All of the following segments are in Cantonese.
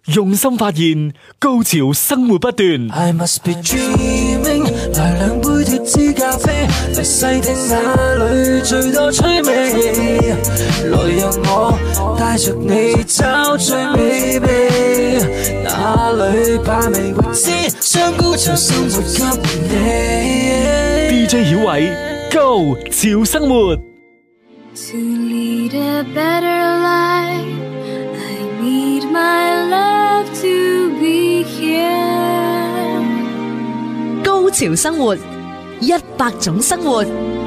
用心發現，高潮生活不斷。 I must be dreaming， 來兩杯脫脂咖啡，嚟細聽哪裏最多趣味，來讓我帶着你找最美味，哪裏把味未知，將高潮生活給你。 DJ 曉偉，高潮生活。 To lead a better life, I need my love to be here。 高潮生活，100種生活。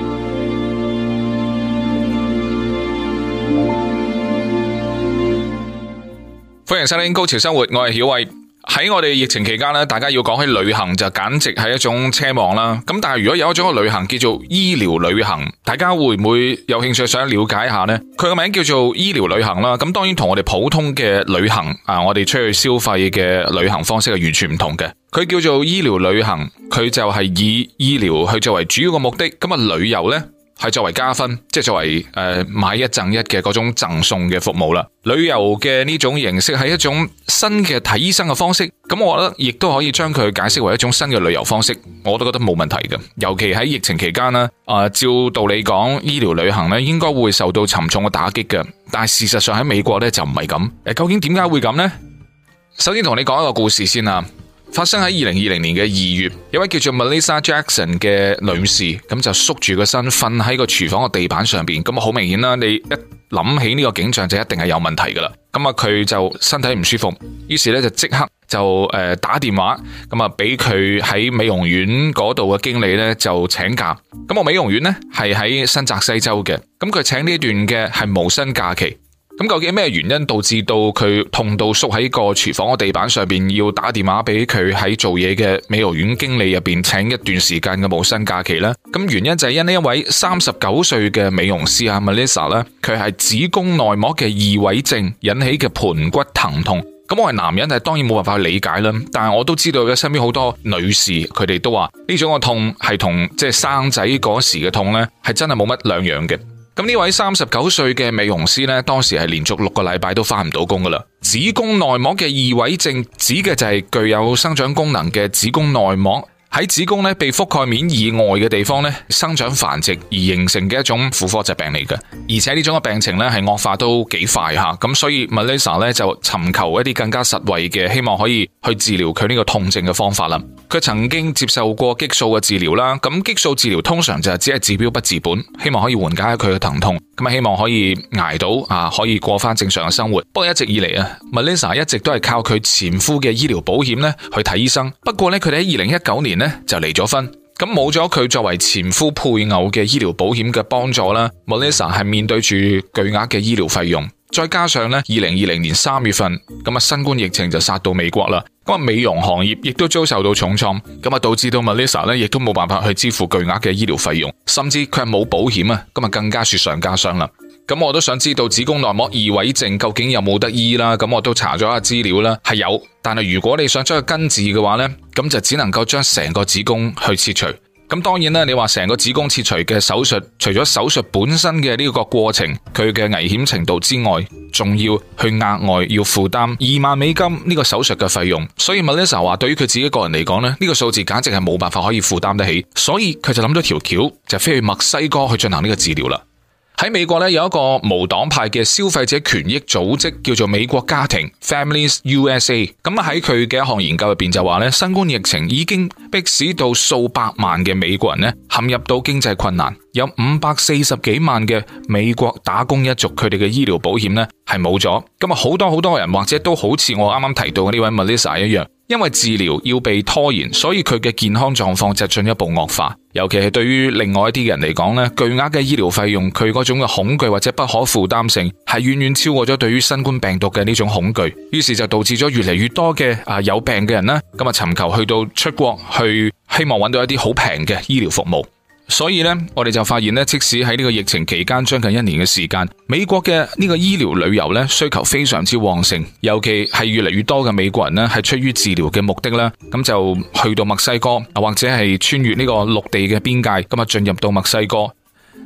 歡迎收聽高潮生活，我係曉偉。喺我哋疫情期間咧，大家要講起旅行就簡直係一種奢望啦。咁但係如果有一種嘅旅行叫做醫療旅行，大家會唔會有興趣想了解下呢？佢個名叫做醫療旅行啦。咁當然同我哋普通嘅旅行我哋出去消費嘅旅行方式係完全唔同嘅。佢叫做醫療旅行，佢就係以醫療去作為主要嘅目的。咁啊，旅遊呢係作為加分，即係作為買一贈一嘅嗰種贈送嘅服務啦。旅遊嘅呢種形式係一種新嘅睇醫生嘅方式，咁我覺得亦都可以將佢解釋為一種新嘅旅遊方式，我都覺得冇問題嘅。尤其喺疫情期間呢，照道理講，醫療旅行呢應該會受到沉重嘅打擊嘅，但係事實上喺美國呢就唔係咁。究竟點解會咁呢？首先同你講一個故事先啊。發生喺2020年嘅2月，有位叫做 Melissa Jackson 嘅女士，咁就縮住個身瞓喺個廚房嘅地板上邊，咁好明顯啦，你一諗起呢個景象就一定係有問題噶啦。咁啊，佢就身體唔舒服，於是咧就即刻就打電話，咁啊俾佢喺美容院嗰度嘅經理咧就請假。咁個美容院咧係喺新澤西州嘅，咁佢請呢段嘅係無薪假期。咁究竟咩原因導致到佢痛到縮喺個廚房嘅地板上邊，要打電話俾佢喺做嘢嘅美容院經理入邊請一段時間嘅無薪假期呢？咁原因就係因呢一位39歲嘅美容師Melissa 咧，佢係子宮內膜嘅異位症引起嘅盤骨疼痛。咁我係男人，係當然冇辦法去理解啦。但係我都知道嘅，身邊好多女士佢哋都話呢種嘅痛係同即係生仔嗰時嘅痛呢係真係冇乜兩樣嘅。咁呢位39歲嘅美容師呢，當時係連續6個禮拜都返唔到工噶啦。子宮內膜嘅異位症指嘅就係具有生長功能嘅子宮內膜喺子宮呢被覆蓋面以外嘅地方呢生長繁殖而形成嘅一種婦科疾病嚟嘅，而且呢種嘅病情呢係惡化都幾快吓，咁所以 Melissa 呢就尋求一啲更加實惠嘅，希望可以去治療佢呢個痛症嘅方法啦。佢曾經接受過激素嘅治療啦，咁激素治療通常就係只係治標不治本，希望可以緩解佢嘅疼痛，咁啊希望可以捱到可以過翻正常嘅生活。不過一直以嚟Melissa 一直都係靠佢前夫嘅醫療保險呢去睇醫生。不過呢，佢哋喺2019年呢就離咗婚，咁冇咗佢作為前夫配偶嘅醫療保險嘅幫助啦，Melissa 係面對住巨額嘅醫療費用，再加上呢2020年3月份咁啊新冠疫情就殺到美國啦，咁啊美容行業亦都遭受到重創，咁啊導致到 Melissa 呢亦都冇辦法去支付巨額嘅醫療費用，甚至佢係冇保險啊，咁啊更加雪上加霜啦。咁我都想知道子宮內膜異位症究竟有冇得醫啦？咁我都查咗下資料啦，係有，但係如果你想將佢根治嘅話呢，咁就只能夠將成個子宮去切除。咁當然啦，你話成個子宮切除嘅手術，除咗手術本身嘅呢個過程，佢嘅危險程度之外，仲要去額外要負擔2萬美金呢個手術嘅費用。所以 Melissa 話對於佢自己個人嚟講呢，呢個數字簡直係冇辦法可以負擔得起，所以佢就諗到條橋，就飛去墨西哥去進行呢個治療啦。喺美國咧有一個無黨派嘅消費者權益組織叫做美國家庭 Families USA， 咁喺佢嘅一項研究入邊就話咧，新冠疫情已經迫使到數百萬嘅美國人咧陷入到經濟困難，有540幾萬嘅美國打工一族佢哋嘅醫療保險咧係冇咗，咁啊好多人或者都好似我啱啱提到嘅呢位 Melissa 一樣，因為治療要被拖延，所以佢嘅健康狀況就進一步惡化。尤其係對於另外一啲人嚟講咧，巨額嘅醫療費用，佢嗰種嘅恐懼或者不可負擔性，係遠遠超過咗對於新冠病毒嘅呢種恐懼。於是就導致咗越嚟越多嘅有病嘅人咧，咁啊尋求去到出國去，希望揾到一啲好平嘅醫療服務。所以呢，我哋就發現呢，即使喺呢個疫情期間將近1年嘅時間，美國嘅呢個醫療旅遊呢需求非常之旺盛，尤其係越嚟越多嘅美國人呢係出於治療嘅目的啦，咁就去到墨西哥或者係穿越呢個陸地嘅邊界，咁啊進入到墨西哥。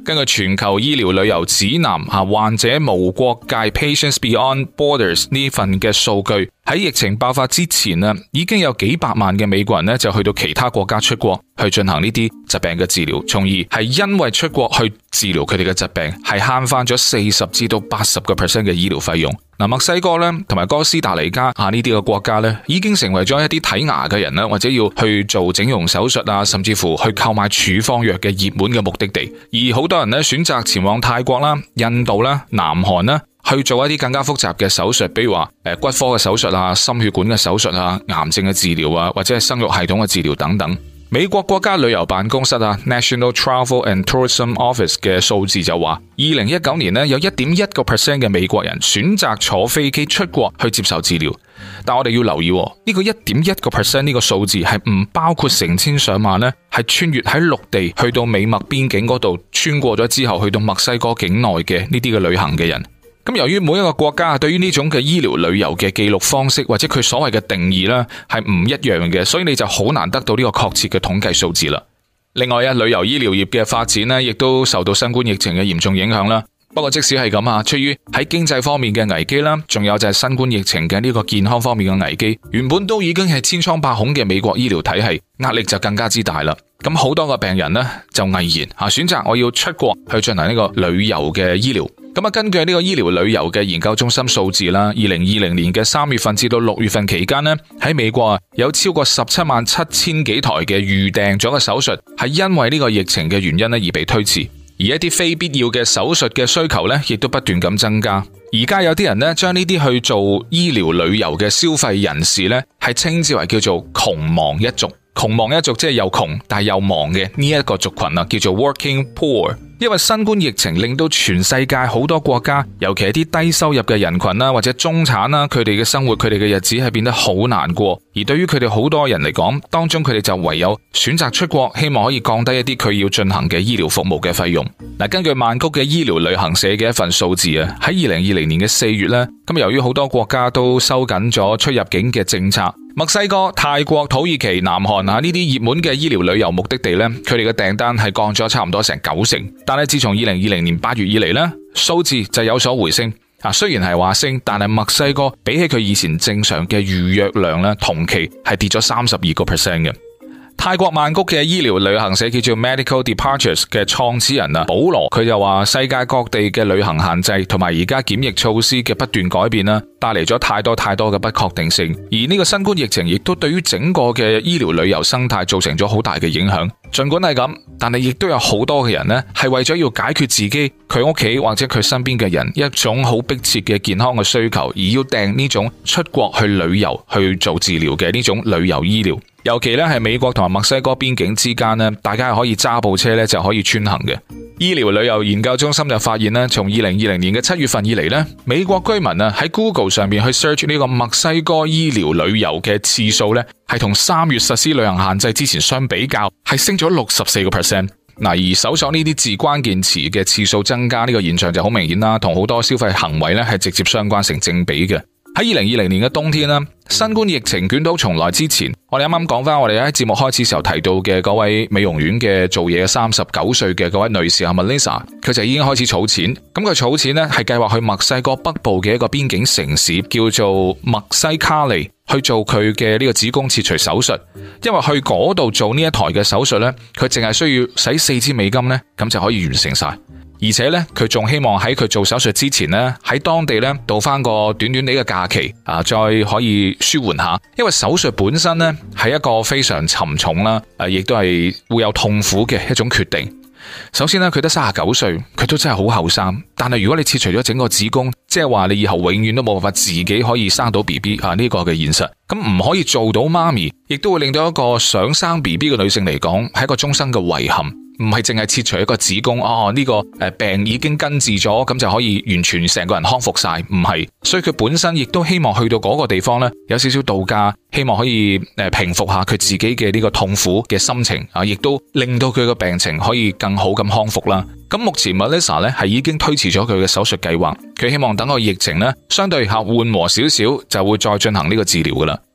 根據全球醫療旅遊指南患者無國界 Patients Beyond Borders 呢份嘅數據，喺疫情爆發之前已經有幾百萬嘅美國人呢就去到其他國家出國去進行呢啲疾病嘅治療，從而係因為出國去治療佢哋嘅疾病，係慳翻咗40%至到80%嘅醫療費用。墨西哥咧同埋哥斯達黎加呢啲嘅國家咧，已經成為咗一啲睇牙嘅人啦，或者要去做整容手術甚至乎去購買處方藥嘅熱門嘅目的地。而好多人咧選擇前往泰國啦、印度啦、南韓啦，去做一啲更加複雜嘅手術，比如話骨科嘅手術心血管嘅手術癌症嘅治療或者係生育系統嘅治療等等。美國國家旅遊辦公室National Travel and Tourism Office 嘅數字就話，2019年有 1.1% 嘅美國人選擇坐飛機出國去接受治療。但我哋要留意呢個 1.1% 呢個數字係唔包括成千上萬係穿越喺陸地去到美墨邊境嗰度，穿過咗之後去到墨西哥境內嘅呢啲嘅旅行嘅人。咁由於每一個國家對於呢種嘅醫療旅遊嘅記錄方式或者佢所謂嘅定義係唔一樣嘅，所以你就好難得到呢個確切嘅統計數字啦。另外旅遊醫療業嘅發展亦都受到新冠疫情嘅嚴重影響啦。不過即使係咁出於喺經濟方面嘅危機啦，仲有就係新冠疫情嘅呢個健康方面嘅危機，原本都已經係千瘡百孔嘅美國醫療體系壓力就更加之大啦。咁好多個病人就毅然選擇我要出國去進行呢個旅遊嘅醫療。根據呢個醫療旅遊嘅研究中心數字啦，2020年嘅3月份至到6月份期間喺美國有超過177000幾台嘅預訂咗嘅手術係因為呢個疫情嘅原因而被推遲，而一啲非必要嘅手術嘅需求亦都不斷咁增加。而家有啲人將呢啲去做醫療旅遊嘅消費人士係稱之為叫做窮忙一族。窮忙一族即係又窮但係又忙嘅呢一個族群叫做 working poor。因為新冠疫情令到全世界好多國家，尤其係啲低收入嘅人群或者中產佢哋嘅生活，佢哋嘅日子係變得好難過。而對於佢哋好多人嚟講，當中佢哋就唯有選擇出國，希望可以降低一啲佢要進行嘅醫療服務嘅費用。根據曼谷嘅醫療旅行社嘅一份數字喺2020年嘅4月咁由於好多國家都收緊咗出入境嘅政策，墨西哥、泰國、土耳其、南韓呢啲熱門嘅醫療旅遊目的地佢哋嘅訂單係降咗差唔多成90%。但係自從2020年8月以嚟數字就有所回升。雖然係話升，但係墨西哥比起佢以前正常嘅預約量同期係跌咗32%嘅。泰國曼谷嘅醫療旅行社叫做 Medical Departures 嘅創始人保羅，佢就話世界各地嘅旅行限制同埋而家檢疫措施嘅不斷改變帶嚟咗太多嘅不確定性。而呢個新冠疫情亦都對於整個嘅醫療旅遊生態造成咗好大嘅影響。盡管係咁，但係亦都有好多嘅人係為咗要解決自己、佢屋企或者佢身邊嘅人一種好迫切嘅健康嘅需求，而要訂呢種出國去旅遊去做治療嘅呢種旅遊醫療。尤其係美國同埋墨西哥邊境之間大家係可以揸部車就可以穿行嘅。醫療旅遊研究中心就發現從2020年嘅7月份以嚟美國居民喺 Google 上面去 search 呢個墨西哥醫療旅遊嘅次數係同3月實施旅行限制之前相比較係升咗64%。而搜索呢啲字關鍵詞嘅次數增加呢個現象就好明顯啦，同好多消費行為係直接相關成正比嘅。喺2020年嘅冬天新冠疫情捲土重來之前，我哋啱啱講翻我哋喺節目開始時候提到嘅嗰位美容院嘅做嘢39歲嘅嗰位女士Melissa， 佢就已經開始儲錢。咁佢儲錢係計劃去墨西哥北部嘅一個邊境城市叫做墨西卡利去做佢嘅呢個子宮切除手術。因為去嗰度做呢一台嘅手術佢淨係需要使$4,000咁就可以完成晒。而且佢仲希望喺佢做手術之前喺當地度翻個短短嘅假期再可以舒緩下。因為手術本身係一個非常沉重啦，亦都係會有痛苦嘅一種決定。首先佢得39歲，佢都真係好後生。但係如果你切除咗整個子宮，即係話你以後永遠都冇辦法自己可以生到 BB 呢個嘅現實，咁唔可以做到媽咪，亦都會令到一個想生 BB 嘅女性嚟講係一個終生嘅遺憾。唔係淨係切除一個子宮，呢個病已經根治咗，咁就可以完全成個人康復晒，唔係。所以佢本身亦都希望去到嗰個地方有少少度假，希望可以平復下佢自己嘅呢個痛苦嘅心情，亦都令到佢嘅病情可以更好咁康復啦。咁目前 Melissa 係已經推遲咗佢嘅手術計劃，佢希望等個疫情相對緩和少少就會再進行呢個治療噶啦。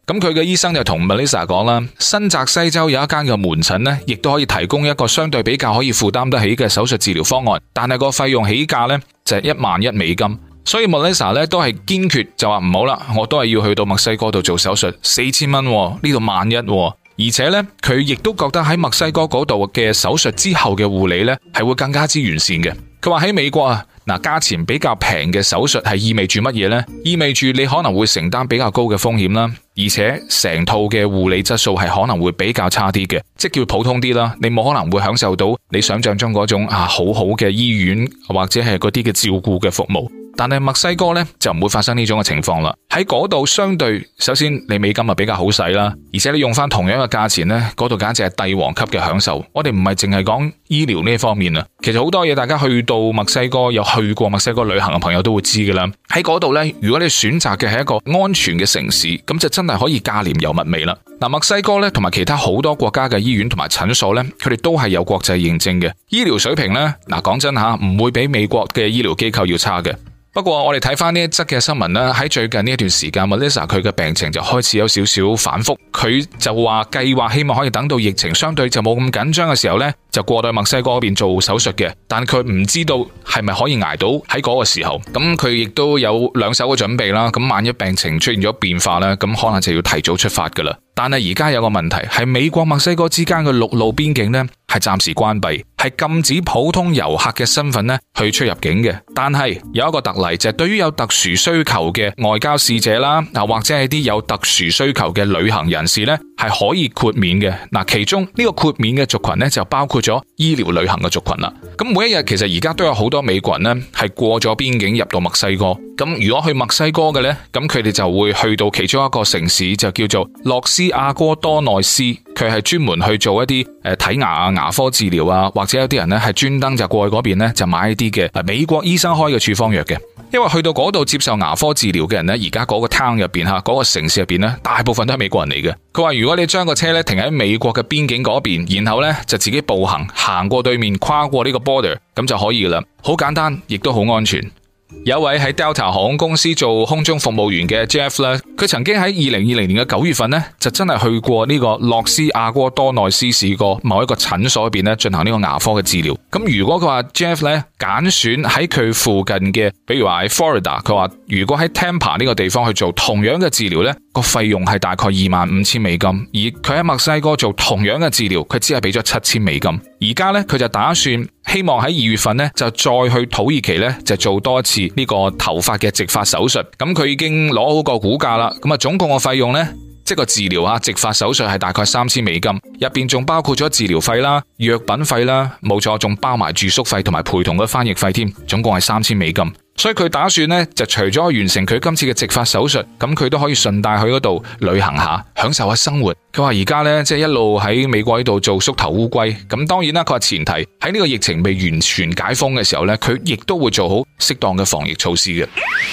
咁佢嘅醫生就同 Melissa 講啦，新澤西州有一間嘅門診呢，亦都可以提供一個相對比較可以負擔得起嘅手術治療方案，但係個費用起價呢，就係$11,000，所以 Melissa 呢都係堅決就話唔好啦，我都係要去到墨西哥度做手術，$4,000，呢度$11,000，而且呢，佢亦都覺得喺墨西哥嗰度嘅手術之後嘅護理呢係會更加之完善嘅。佢話喺美國啊，價錢比較平嘅手術係意味住乜嘢呢？意味住你可能會承擔比較高嘅風險啦，而且成套嘅護理質素係可能會比較差啲嘅，即叫普通啲啦。你冇可能會享受到你想象中嗰種好好嘅醫院或者係嗰啲嘅照顧嘅服務。但係墨西哥呢，就唔會發生呢種嘅情況啦。喺嗰度相對，首先你美金比較好使啦，而且你用翻同樣嘅價錢呢，嗰度簡直係帝王級嘅享受。我哋唔係淨係講醫療呢一方面啊，其實好多嘢大家去到墨西哥有去過墨西哥旅行嘅朋友都會知噶啦。喺嗰度呢，如果你選擇嘅係一個安全嘅城市，咁就真係可以價廉又物美啦。墨西哥呢，同埋其他好多國家嘅醫院同埋診所呢，佢哋都係有國際認證嘅，醫療水平呢，講真吓，唔會比美國嘅醫療機構要差嘅。不過我哋睇翻呢一則嘅新聞啦，喺最近呢一段時間 Melissa 佢嘅病情就開始有少少反覆，佢就話計劃希望可以等到疫情相對就冇咁緊張嘅時候呢，就過到墨西哥嗰邊做手術嘅，但佢唔知道係咪可以捱到喺嗰個時候，咁佢亦都有兩手嘅準備啦，咁萬一病情出現咗變化呢，咁可能就要提早出發噶啦。但係而家有個問題係美國墨西哥之間嘅陸路邊境呢係暫時關閉，係禁止普通遊客嘅身份呢去出入境嘅。但係有一個特例就係對於有特殊需求嘅外交使者啦，或者係啲有特殊需求嘅旅行人士呢係可以豁免嘅。其中呢個豁免嘅族群呢就包括咗醫療旅行嘅族群啦。咁每一日其實而家都有好多美國人呢係過咗邊境入到墨西哥。咁如果去墨西哥嘅呢，咁佢哋就會去到其中一個城市就叫做洛斯阿哥多內斯，佢係專門去做一啲睇牙啊、牙科治療啊，或者有啲人呢係專登就過去嗰邊呢就買一啲嘅美國醫生開嘅處方藥嘅。因為去到嗰度接受牙科治療嘅人呢，而家嗰個 town 入邊嗰個城市入邊呢，大部分都係美國人嚟嘅。佢話如果你將個車呢停喺美國嘅邊境嗰邊，然後呢就自己步行過對面，跨過呢個 border， 咁就可以噶啦，好簡單，亦都好安全。有一位喺 Delta 航空公司做空中服務員嘅 Jeff 咧，佢曾經喺2020年嘅9月份呢，就真係去過呢個洛斯阿哥多內斯市個某一個診所入邊呢進行呢個牙科嘅治療。咁如果佢話 Jeff 咧揀選喺佢附近嘅，比如話喺 Florida， 佢話如果喺 Tampa 呢個地方去做同樣嘅治療呢，個費用係大概$25,000，而佢喺墨西哥做同樣嘅治療，佢只係俾咗$7,000。而家呢，佢就打算希望喺2月份呢，就再去土耳其呢，就做多一次呢個頭髮嘅植髮手術。咁佢已經攞好個估價啦。咁總共嘅費用呢，即係個治療啊，植髮手術係大概$3,000，入邊仲包括咗治療費啦、藥品費啦，冇錯，仲包埋住宿費同埋陪同嘅翻譯費添，總共係$3,000。所以佢打算呢，就除咗完成佢今次嘅植髮手術，咁佢都可以順帶去嗰度旅行下，享受下生活。佢話而家呢，即係一路喺美國呢度做縮頭烏龜。咁當然啦，佢話前提喺呢個疫情未完全解封嘅時候呢，佢亦都會做好適當嘅防疫措施嘅。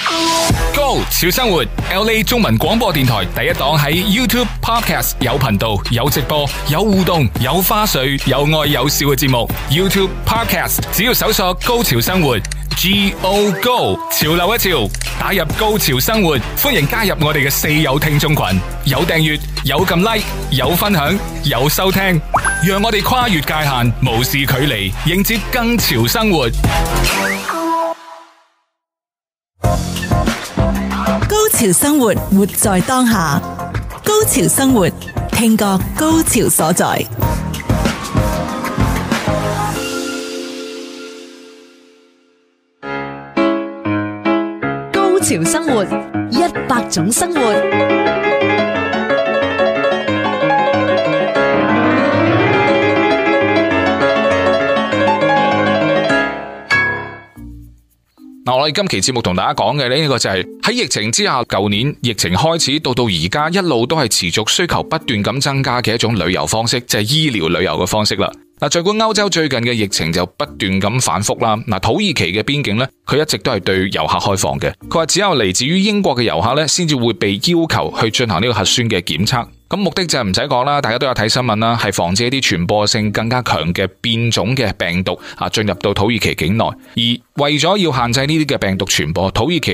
Go 潮生活 LA 中文廣播電台第一檔喺 YouTube Podcast 有頻道、有直播、有互動、有花絮、有愛有笑嘅節目。YouTube Podcast 只要搜索高潮生活 Go Go 潮流一潮，打入高潮生活，歡迎加入我哋嘅四友聽眾群，有訂閱、有撳 like、有分享、有收聽，讓我哋跨越界限，無視距離，迎接更潮生活。 高潮生活，活在當下。高潮生活，聽覺高潮所在。 高潮生活，100種生活。 我哋今期節目同大家講嘅呢個就係喺疫情之下，舊年疫情開始到而家一路都係持續需求不斷咁增加嘅一種旅遊方式，就係醫療旅遊嘅方式啦。儘管歐洲最近嘅疫情就不斷咁反覆啦，土耳其嘅邊境呢，佢一直都係對遊客開放嘅。佢話只有嚟自於英國嘅遊客呢，先至會被要求去進行呢個核酸嘅檢測。咁目的就係唔使講啦，大家都有睇新聞啦，係防止一啲傳播性更加強嘅變種嘅病毒進入到土耳其境內。而為咗要限制呢啲嘅病毒傳播，土耳其呢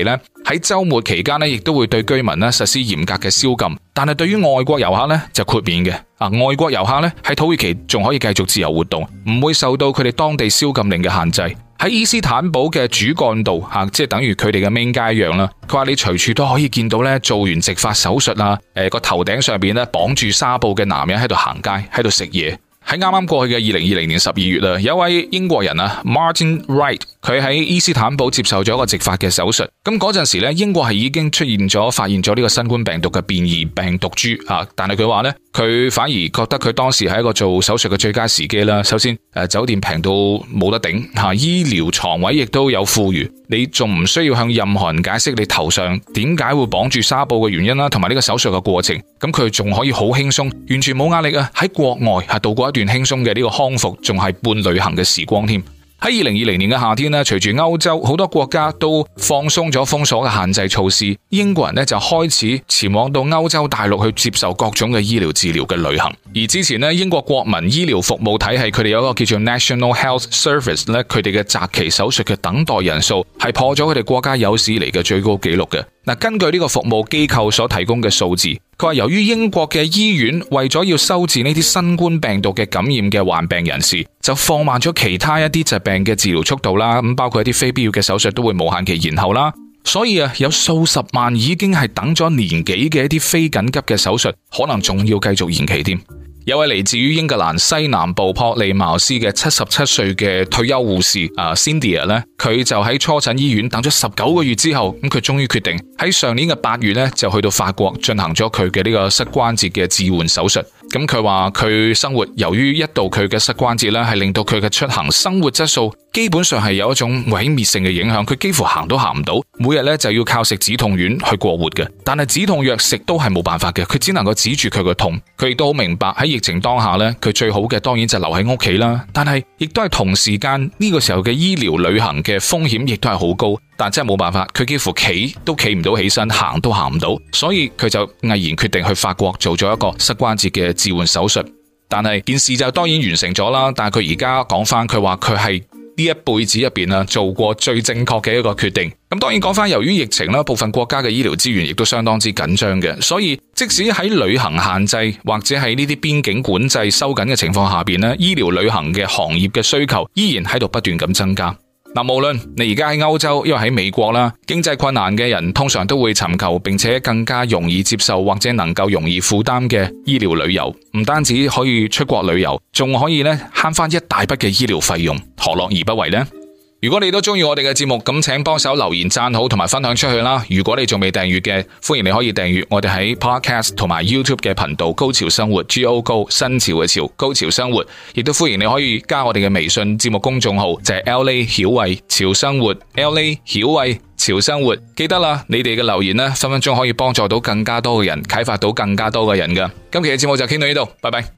喺週末期間咧，亦都會對居民咧實施嚴格嘅宵禁。但係對於外國遊客咧就豁免嘅。外國遊客咧喺土耳其仲可以繼續自由活動，唔會受到佢哋當地宵禁令嘅限制。喺伊斯坦堡嘅主幹道即係等於佢哋嘅 main 街一樣啦。佢話你隨處都可以見到咧做完植髮手術啊，個頭頂上邊咧綁住紗布嘅男人喺度行街，喺度食嘢。喺啱啱過去嘅2020年12月啊，有一位英國人啊 Martin Wright， 佢喺伊斯坦堡接受咗一個植髮嘅手術。咁嗰陣時咧，英國係已經發現咗呢個新冠病毒嘅變異病毒株啊，但係佢話咧，佢反而覺得佢當時係一個做手術嘅最佳時機啦。首先，酒店平到冇得頂吓，醫療床位亦都有富裕，你仲唔需要向任何人解釋你頭上點解會綁住紗布嘅原因啦，同埋呢個手術嘅過程。咁佢仲可以好輕鬆，完全冇壓力啊！喺國外係度過一段輕鬆嘅呢個康復，仲係半旅行嘅時光添。喺2020年嘅夏天咧，隨住歐洲好多國家都放鬆咗封鎖嘅限制措施，英國人咧就開始前往到歐洲大陸去接受各種嘅醫療治療嘅旅行。而之前咧，英國國民醫療服務體系佢哋有一個叫做 National Health Service 咧，佢哋嘅擇期手術嘅等待人數係破咗佢哋國家有史以嚟嘅最高紀錄嘅。根據呢個服務機構所提供嘅數字，佢話由於英國嘅醫院為咗要收治呢啲新冠病毒嘅感染嘅患病人士，就放慢咗其他一啲疾病嘅治療速度啦。咁包括一啲非必要嘅手術都會無限期延後啦。所以有數十萬已經係等咗年幾嘅一啲非緊急嘅手術，可能仲要繼續延期添。有位嚟自於英格蘭西南部珀利茅斯嘅77歲嘅退休護士Cindy 咧，佢就喺初診醫院等咗19個月之後，咁佢終於決定喺上年嘅8月咧就去到法國進行咗佢嘅呢個膝關節嘅置換手術。咁佢話佢生活由於一度佢嘅膝關節咧係令到佢嘅出行生活質素基本上係有一種毀滅性嘅影響，佢幾乎行都行唔到，每日咧就要靠食止痛丸去過活嘅。但係止痛藥食都係冇辦法嘅，佢只能夠止住佢嘅痛。佢亦都好明白喺疫情當下咧，佢最好嘅當然就留喺屋企啦。但係亦都係同時間呢個時候嘅醫療旅行嘅風險亦都係好高。但真係冇辦法，佢幾乎企都企唔到起身，行都行唔到，所以佢就毅然決定去法國做咗一個膝關節嘅置換手術。但係件事就當然完成咗啦。但係佢而家講翻，佢話佢係呢一輩子入邊做過最正確嘅一個決定。咁當然講翻，由於疫情啦，部分國家嘅醫療資源亦都相當之緊張嘅，所以即使喺旅行限制或者係呢啲邊境管制收緊嘅情況下邊咧，醫療旅行嘅行業嘅需求依然喺度不斷咁增加。無論你而家喺歐洲，因為喺美國啦，經濟困難嘅人通常都會尋求並且更加容易接受或者能夠容易負擔嘅醫療旅遊，唔單止可以出國旅遊，仲可以慳翻一大筆嘅醫療費用，何樂而不為呢？如果你都中意我哋嘅節目，咁請幫手留言讚好同埋分享出去啦。如果你仲未訂閱嘅，歡迎你可以訂閱我哋喺 Podcast 同埋 YouTube 嘅頻道高潮生活 GO 高新潮嘅潮高潮生活，亦都歡迎你可以加我哋嘅微信節目公眾號，就係 LA 曉慧潮生活 LA 曉慧潮生活。記得啦，你哋嘅留言分分鐘可以幫助到更加多嘅人，啟發到更加多嘅人㗎。今期嘅節目就傾到呢度，拜拜。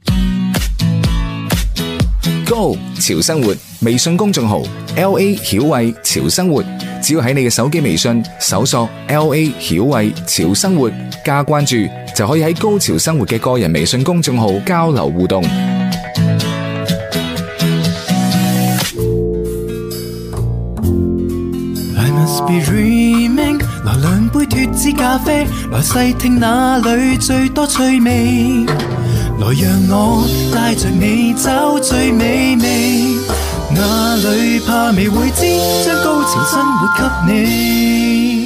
Go 潮生活微信公眾號 LA 曉慧潮生活，只要喺你嘅手機微信搜索 LA 曉慧潮生活加關注，就可以喺高潮生活嘅個人微信公眾號交流互動。 I must be dreaming， 來兩杯脫脂咖啡，來細聽哪裏最多趣味，來讓我帶着你找最美味，哪裏怕未會知，將高潮生活給你。